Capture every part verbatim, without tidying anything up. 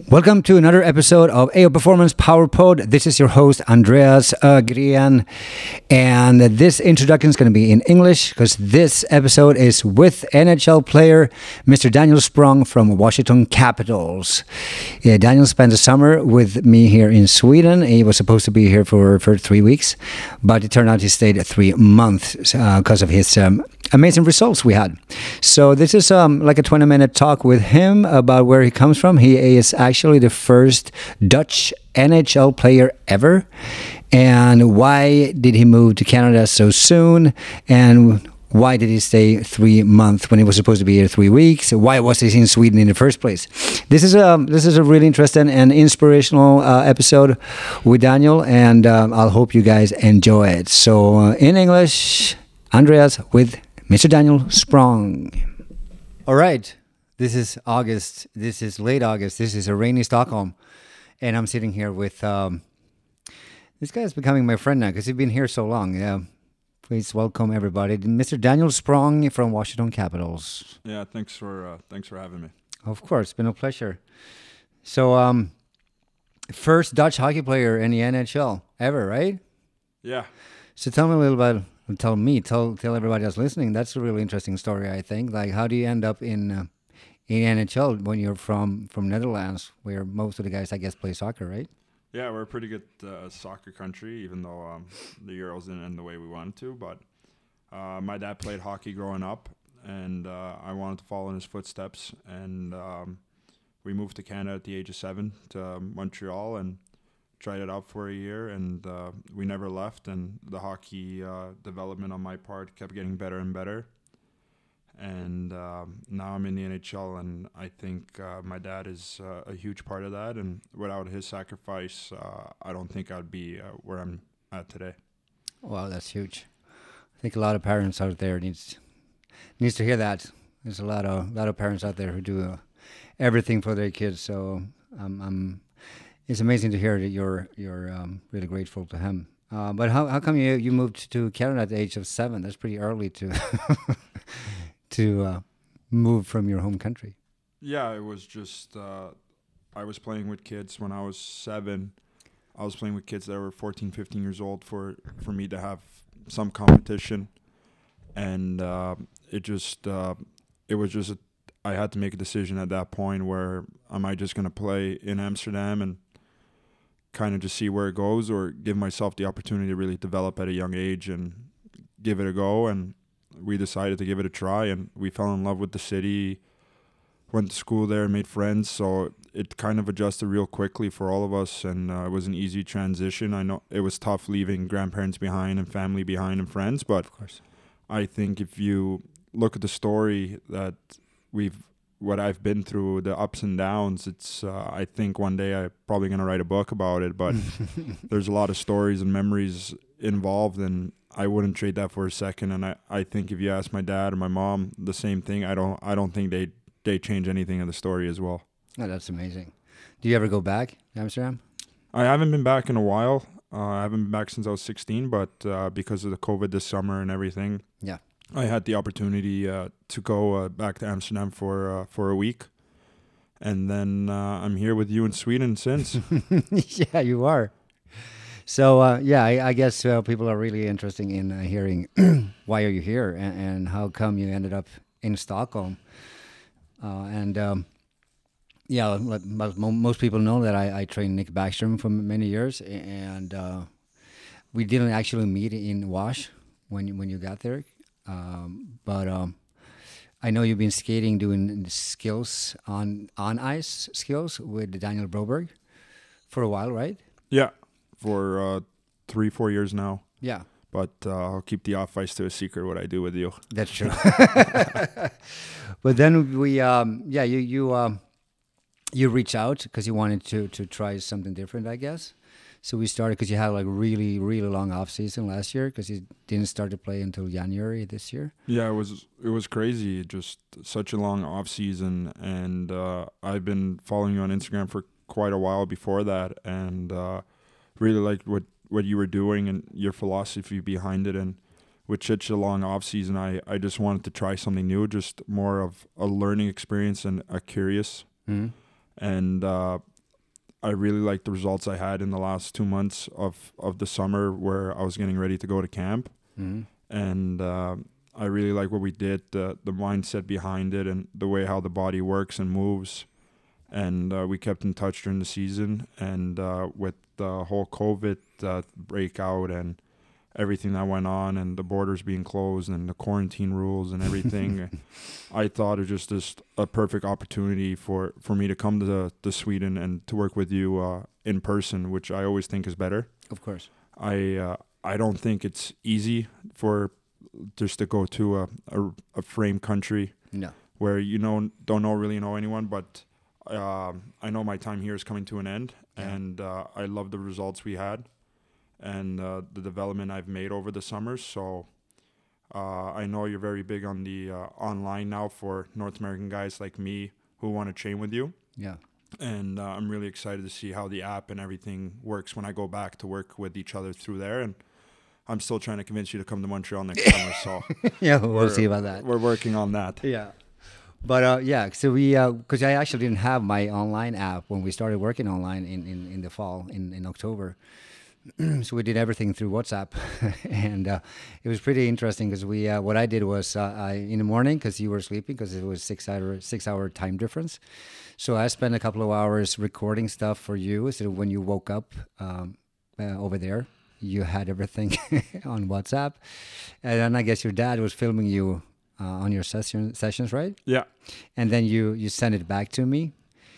Welcome to another episode of A O Performance Power Pod. This is your host, Andreas Ögren. And this introduction is going to be in English because this episode is with N H L player Mister Daniel Sprong from Washington Capitals. Yeah, Daniel spent the summer with me here in Sweden. He was supposed to be here for, for three weeks, but it turned out he stayed three months because uh, of his um, amazing results we had. So this is um, like a twenty minute talk with him about where he comes from. He is actually the first Dutch N H L player ever. And why did he move to Canada so soon? And why did he stay three months when he was supposed to be here three weeks? Why was he in Sweden in the first place? This is a this is a really interesting and inspirational uh, episode with Daniel, and um, I'll hope you guys enjoy it. So uh, in English, Andreas with Mister Daniel Sprong. All right, this is August. This is late August. This is a rainy Stockholm, and I'm sitting here with. Um, This guy is becoming my friend now because he's been here so long. Yeah, please welcome everybody, Mister Daniel Sprong from Washington Capitals. Yeah, thanks for uh, thanks for having me. Of course, it's been a pleasure. So, um, first Dutch hockey player in the N H L ever, right? Yeah. So tell me a little about. Tell me, tell tell everybody else listening. That's a really interesting story, I think. Like, how do you end up in uh, in N H L when you're from from Netherlands, where most of the guys, I guess, play soccer, right? Yeah, we're a pretty good uh, soccer country, even though um, the Euros didn't end the way we wanted to. But uh, my dad played hockey growing up, and uh, I wanted to follow in his footsteps. And um, we moved to Canada at the age of seven to um, Montreal and tried it out for a year. And uh, we never left. And the hockey uh, development on my part kept getting better and better. And um, now I'm in the N H L, and I think uh, my dad is uh, a huge part of that. And without his sacrifice, uh, I don't think I'd be uh, where I'm at today. Wow, that's huge. I think a lot of parents out there needs needs to hear that. There's a lot of lot of parents out there who do uh, everything for their kids. So um, I'm, it's amazing to hear that you're you're um, really grateful to him. Uh, but how how come you you moved to Canada at the age of seven? That's pretty early to. to uh, move from your home country. Yeah, it was just, uh, I was playing with kids when I was seven. I was playing with kids that were fourteen, fifteen years old for, for me to have some competition. And uh, it just, uh, it was just, a, I had to make a decision at that point where am I just going to play in Amsterdam and kind of just see where it goes, or give myself the opportunity to really develop at a young age and give it a go. And we decided to give it a try, and we fell in love with the city, went to school there, made friends. So it kind of adjusted real quickly for all of us, and uh, it was an easy transition. I know it was tough leaving grandparents behind and family behind and friends, but of course, I think if you look at the story that we've, what I've been through, the ups and downs, it's, uh, I think one day I'm probably going to write a book about it, but there's a lot of stories and memories involved, and I wouldn't trade that for a second. And I, I think if you ask my dad or my mom the same thing, I don't I don't think they they change anything in the story as well. Oh, that's amazing. Do you ever go back to Amsterdam? I haven't been back in a while. Uh, I haven't been back since I was sixteen, but uh, because of the COVID this summer and everything, yeah, I had the opportunity uh, to go uh, back to Amsterdam for uh, for a week, and then uh, I'm here with you in Sweden since. Yeah, you are. So, uh, yeah, I, I guess uh, people are really interested in uh, hearing why are you here and, and how come you ended up in Stockholm. Uh, and, um, yeah, let, most people know that I, I trained Nick Backstrom for many years, and uh, we didn't actually meet in Wash when you, when you got there. Um, but um, I know you've been skating, doing skills on, on ice skills with Daniel Broberg for a while, right? Yeah. For uh, three, four years now. Yeah. But uh, I'll keep the off ice to a secret what I do with you. That's true. But then we, um, yeah, you you um, you reach out because you wanted to to try something different, I guess. So we started because you had like really really long off season last year because you didn't start to play until January this year. Yeah, it was it was crazy. Just such a long off season, and uh, I've been following you on Instagram for quite a while before that, and. Uh, really liked what, what you were doing and your philosophy behind it. And with such a long off season, I, I just wanted to try something new, just more of a learning experience and a curious. Mm-hmm. And uh, I really liked the results I had in the last two months of, of the summer where I was getting ready to go to camp. Mm-hmm. And uh, I really like what we did, the, the mindset behind it and the way how the body works and moves. And uh, we kept in touch during the season. And uh, with the whole COVID uh, breakout and everything that went on and the borders being closed and the quarantine rules and everything, I thought it was just, just a perfect opportunity for, for me to come to, to Sweden and to work with you uh, in person, which I always think is better. Of course. I uh, I don't think it's easy for just to go to a, a, a frame country No. where you know don't know really know anyone, but um, I know my time here is coming to an end, Yeah. and uh, I love the results we had and uh, the development I've made over the summers. So uh, I know you're very big on the uh, online now for North American guys like me who want to train with you. Yeah. And uh, I'm really excited to see how the app and everything works when I go back to work with each other through there. And I'm still trying to convince you to come to Montreal next summer. So Yeah, we'll we're- see about that. We're working on that. Yeah. But uh, yeah, so we, because I actually didn't have my online app when we started working online in, in, in the fall, in, in October. So we did everything through WhatsApp. And uh, it was pretty interesting because we, uh, what I did was uh, I, in the morning, because you were sleeping, because it was six hour, six hour time difference. So I spent a couple of hours recording stuff for you. So when you woke up um, uh, over there, you had everything on WhatsApp. And then I guess your dad was filming you uh, on your session sessions, right? Yeah. And then you, you sent it back to me.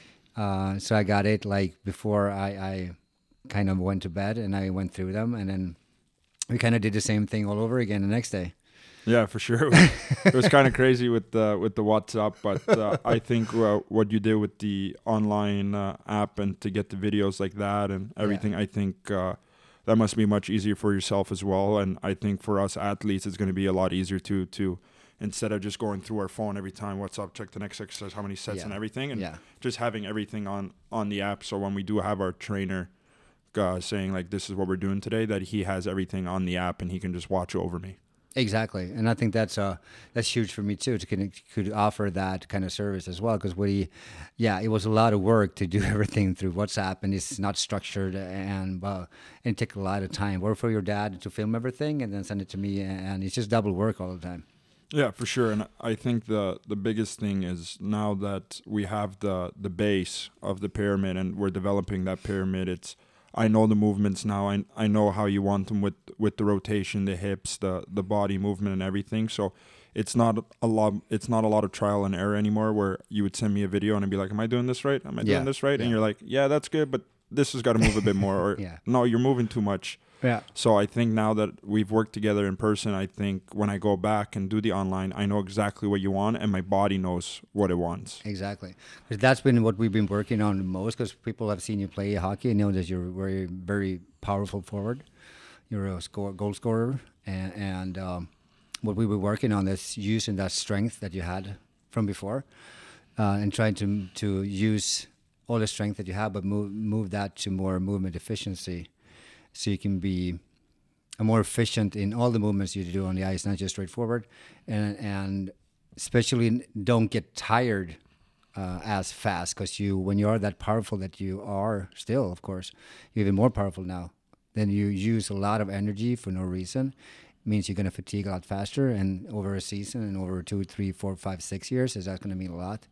Uh, so I got it like before I, I kind of went to bed, and I went through them. And then we kind of did the same thing all over again the next day. Yeah, for sure. It was, it was kind of crazy with the with the WhatsApp, but uh, I think uh, what you did with the online uh, app and to get the videos like that and everything, I think uh, that must be much easier for yourself as well. And I think for us athletes, it's going to be a lot easier to to instead of just going through our phone every time, what's up, check the next exercise, how many sets Yeah. and everything, and Yeah. just having everything on on the app. So when we do have our trainer uh, saying like this is what we're doing today, that he has everything on the app and he can just watch over me. Exactly, and I think that's uh that's huge for me too to can could offer that kind of service as well, because we, yeah, it was a lot of work to do everything through WhatsApp, and it's not structured, and uh, and it took a lot of time. Work for your dad to film everything and then send it to me, and it's just double work all the time. Yeah, for sure. And I think the the biggest thing is now that we have the the base of the pyramid and we're developing that pyramid, it's I know the movements now. I I know how you want them with with the rotation, the hips, the the body movement and everything. So it's not a lot it's not a lot of trial and error anymore where you would send me a video and I'd be like, am I doing this right? Am I Yeah, doing this right? yeah. And you're like, yeah, that's good, but this has got to move a bit more, or Yeah. no, you're moving too much. Yeah. So I think now that we've worked together in person, I think when I go back and do the online, I know exactly what you want and my body knows what it wants. Exactly. 'Cause that's been what we've been working on the most, because people have seen you play hockey and know that you're very, very powerful forward. You're a score, goal scorer. And, and um, what we were working on is using that strength that you had from before uh, and trying to to use all the strength that you have, but move, move that to more movement efficiency, so you can be more efficient in all the movements you do on the ice, not just straightforward, and and especially don't get tired uh, as fast, because you when you are that powerful that you are still, of course, you're even more powerful now. Then you use a lot of energy for no reason. It means you're going to fatigue a lot faster, and over a season and over two, three, four, five, six years, is that going to mean a lot?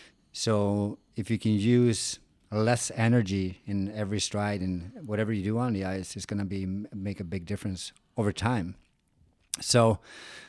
So if you can use less energy in every stride and whatever you do on the ice, it's going to be make a big difference over time. So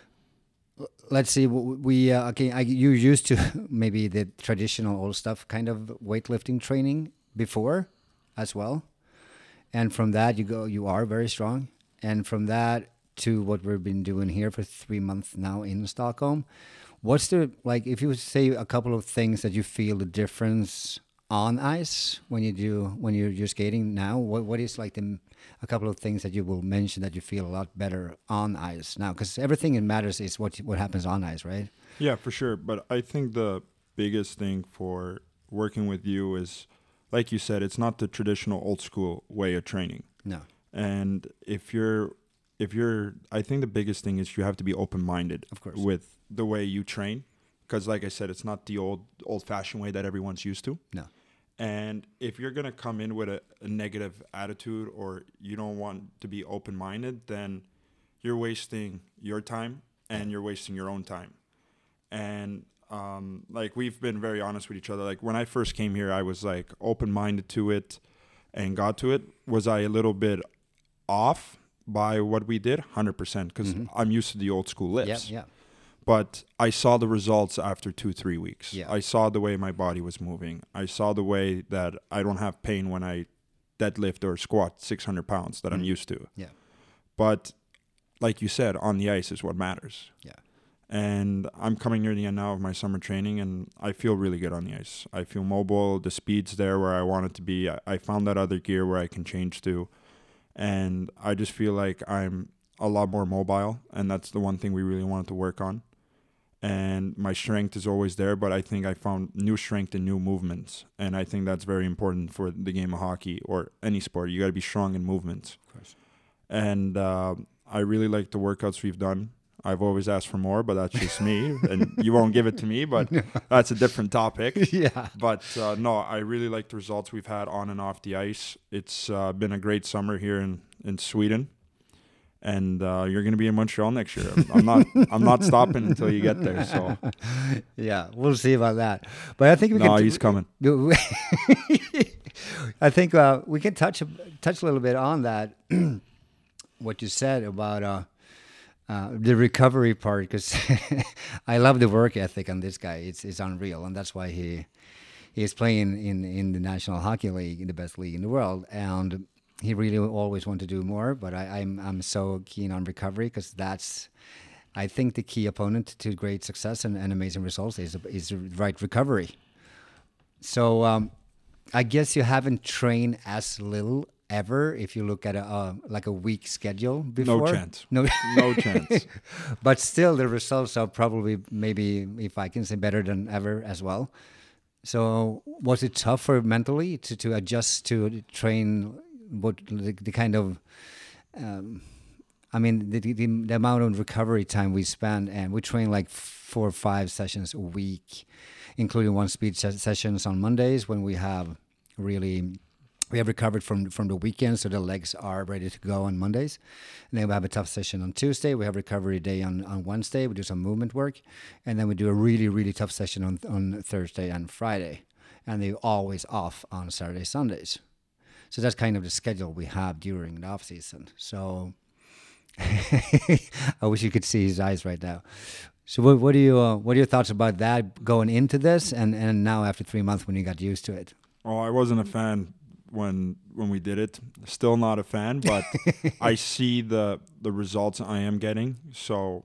l- let's see. w- We uh, okay. I, you used to maybe the traditional old stuff kind of weightlifting training before, as well, and from that you go. You are very strong, and from that to what we've been doing here for three months now in Stockholm. What's the like? If you say a couple of things that you feel the difference on ice when you do when you're you're skating now, what what is like the a couple of things that you will mention that you feel a lot better on ice now? Because everything that matters is what what happens on ice, right? Yeah, for sure. But I think the biggest thing for working with you is, like you said, it's not the traditional old school way of training. No. And if you're, if you're, I think the biggest thing is you have to be open-minded, Of course. with the way you train, because like I said, it's not the old, old-fashioned way that everyone's used to. No. And if you're going to come in with a, a negative attitude or you don't want to be open-minded, then you're wasting your time and you're wasting your own time. And um, like we've been very honest with each other. Like when I first came here, I was like open-minded to it and got to it. Was I a little bit off by what we did? one hundred percent, because mm-hmm. I'm used to the old school lifts. Yeah, yeah. But I saw the results after two, three weeks. Yeah. I saw the way my body was moving. I saw the way that I don't have pain when I deadlift or squat six hundred pounds that mm-hmm. I'm used to. Yeah. But like you said, on the ice is what matters. Yeah. And I'm coming near the end now of my summer training, and I feel really good on the ice. I feel mobile. The speed's there where I want it to be. I, I found that other gear where I can change to. And I just feel like I'm a lot more mobile, and that's the one thing we really wanted to work on. And my strength is always there, but I think I found new strength in new movements. And I think that's very important for the game of hockey or any sport. You got to be strong in movements. Of course. And uh, I really like the workouts we've done. I've always asked for more, but that's just me. And you won't give it to me, but that's a different topic. Yeah. But uh, no, I really like the results we've had on and off the ice. It's uh, been a great summer here in, in Sweden. And uh, you're going to be in Montreal next year. I'm not. I'm not stopping until you get there. So, yeah, we'll see about that. But I think we no, can. he's coming. I think uh, we can touch touch a little bit on that. What you said about uh, uh, the recovery part, because I love the work ethic on this guy. It's it's unreal, and that's why he he's playing in in the National Hockey League, in the best league in the world, and he really always wanted to do more, but I, I'm I'm so keen on recovery because that's, I think, the key opponent to great success and, and amazing results is is the right recovery. So um, I guess you haven't trained as little ever if you look at a uh, like a week schedule before. No chance. No, no chance. But still, the results are probably maybe, if I can say, better than ever as well. So was it tougher mentally to to adjust to train? What the, the kind of, um, I mean, the, the the amount of recovery time we spend, and we train like four or five sessions a week, including one speed ses- sessions on Mondays when we have really, we have recovered from from the weekend, so the legs are ready to go on Mondays. And then we have a tough session on Tuesday. We have recovery day on, on Wednesday. We do some movement work, and then we do a really really tough session on on Thursday and Friday, and they're always off on Saturday, Sundays. So that's kind of the schedule we have during the off season. So I wish you could see his eyes right now. So what, what do you uh, what are your thoughts about that going into this, and, and now after three months when you got used to it? Oh, I wasn't a fan when when we did it. Still not a fan, but I see the the results I am getting. So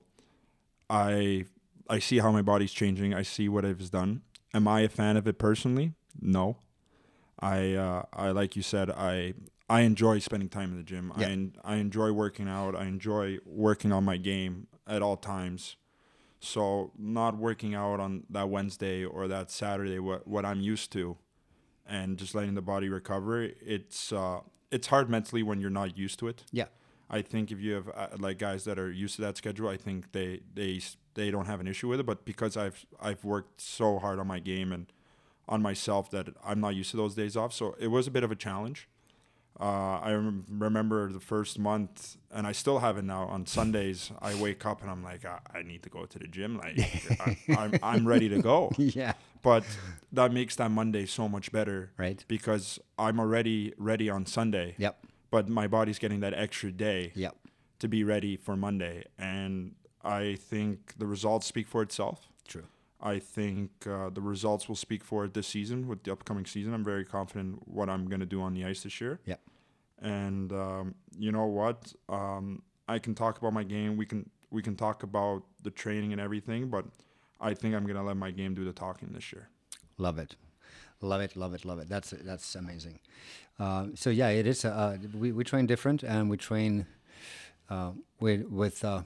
I I see how my body's changing. I see what it's done. Am I a fan of it personally? No. I, uh, I like you said, I I enjoy spending time in the gym. Yeah. I I enjoy working out. I enjoy working on my game at all times. So not working out on that Wednesday or that Saturday, what what I'm used to, and just letting the body recover, it's uh, it's hard mentally when you're not used to it. Yeah. I think if you have uh, like guys that are used to that schedule, I think they they they don't have an issue with it. But because I've I've worked so hard on my game and on myself that I'm not used to those days off. So it was a bit of a challenge. Uh, I rem- remember the first month, and I still have it now. On Sundays, I wake up and I'm like, I, I need to go to the gym. Like, I, I'm, I'm ready to go. Yeah. But that makes that Monday so much better. Right. Because I'm already ready on Sunday. Yep. But my body's getting that extra day. Yep. To be ready for Monday. And I think the results speak for itself. True. I think uh, the results will speak for it this season with the upcoming season. I'm very confident what I'm going to do on the ice this year. Yeah. And um, you know what? Um, I can talk about my game. We can we can talk about the training and everything, but I think I'm going to let my game do the talking this year. Love it. Love it, love it, love it. That's that's amazing. Uh, so yeah, it is. Uh, we we train different, and we train uh, with with uh,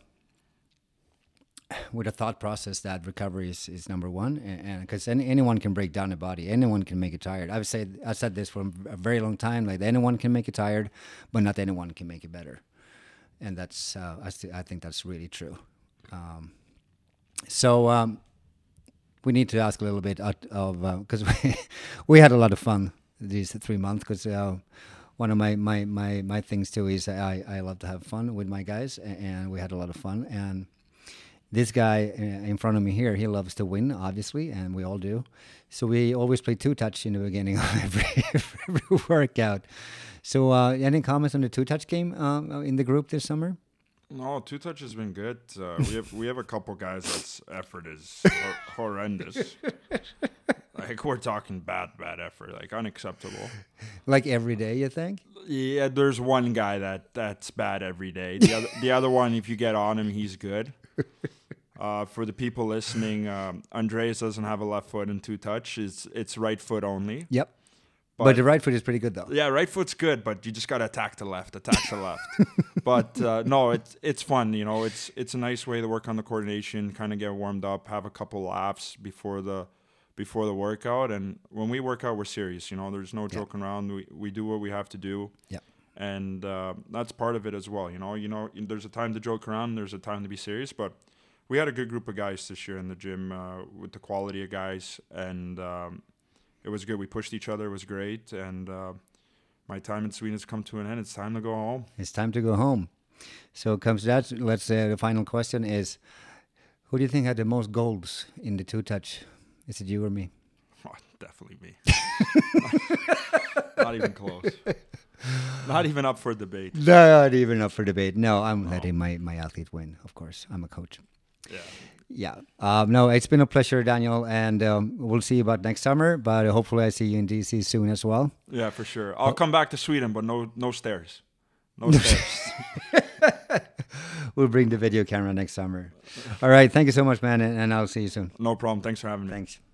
with a thought process that recovery is, is number one, and because any, anyone can break down a body, anyone can make it tired. I've said I said this for a very long time. Like anyone can make it tired, but not anyone can make it better, and that's uh, I st- I think that's really true. Um, so. Um, We need to ask a little bit of because uh, we, we had a lot of fun these three months because uh, one of my, my, my, my things too is I, I love to have fun with my guys, a- and we had a lot of fun. And this guy uh, in front of me here, he loves to win, obviously, and we all do. So we always play two touch in the beginning of every, every workout. So uh, any comments on the two touch game um, in the group this summer? No, two touch has been good. Uh, we have we have a couple guys that's effort is hor- horrendous. Like we're talking bad, bad effort, like unacceptable. Like every day, you think? Yeah, there's one guy that that's bad every day. The other the other one, if you get on him, he's good. Uh, for the people listening, um, Andreas doesn't have a left foot in two touch. It's it's right foot only. Yep. But, But- the right foot is pretty good though. Yeah, right foot's good, but you just gotta attack the left, attack the left. But uh, no, it's it's fun. You know, it's it's a nice way to work on the coordination, kind of get warmed up, have a couple laughs before the before the workout. And when we work out, we're serious. You know, there's no joking around. We we do what we have to do. Yep. And uh, that's part of it as well. You know, you know, there's a time to joke around, there's a time to be serious. But we had a good group of guys this year in the gym uh, with the quality of guys, and um, it was good. We pushed each other. It was great. And uh, my time in Sweden has come to an end. It's time to go home. It's time to go home. So it comes to that. Let's say the final question is, who do you think had the most goals in the two touch? Is it you or me? Oh, definitely me. Not even close. Not even up for debate. Not even up for debate. No, I'm letting my, my athlete win, of course. I'm a coach. Yeah. Yeah. Um, no, it's been a pleasure, Daniel, and um, we'll see you about next summer, but hopefully I see you in D C soon as well. Yeah, for sure. I'll come back to Sweden, but no no stairs. No stairs. We'll bring the video camera next summer. All right. Thank you so much, man, and, and I'll see you soon. No problem. Thanks for having me. Thanks.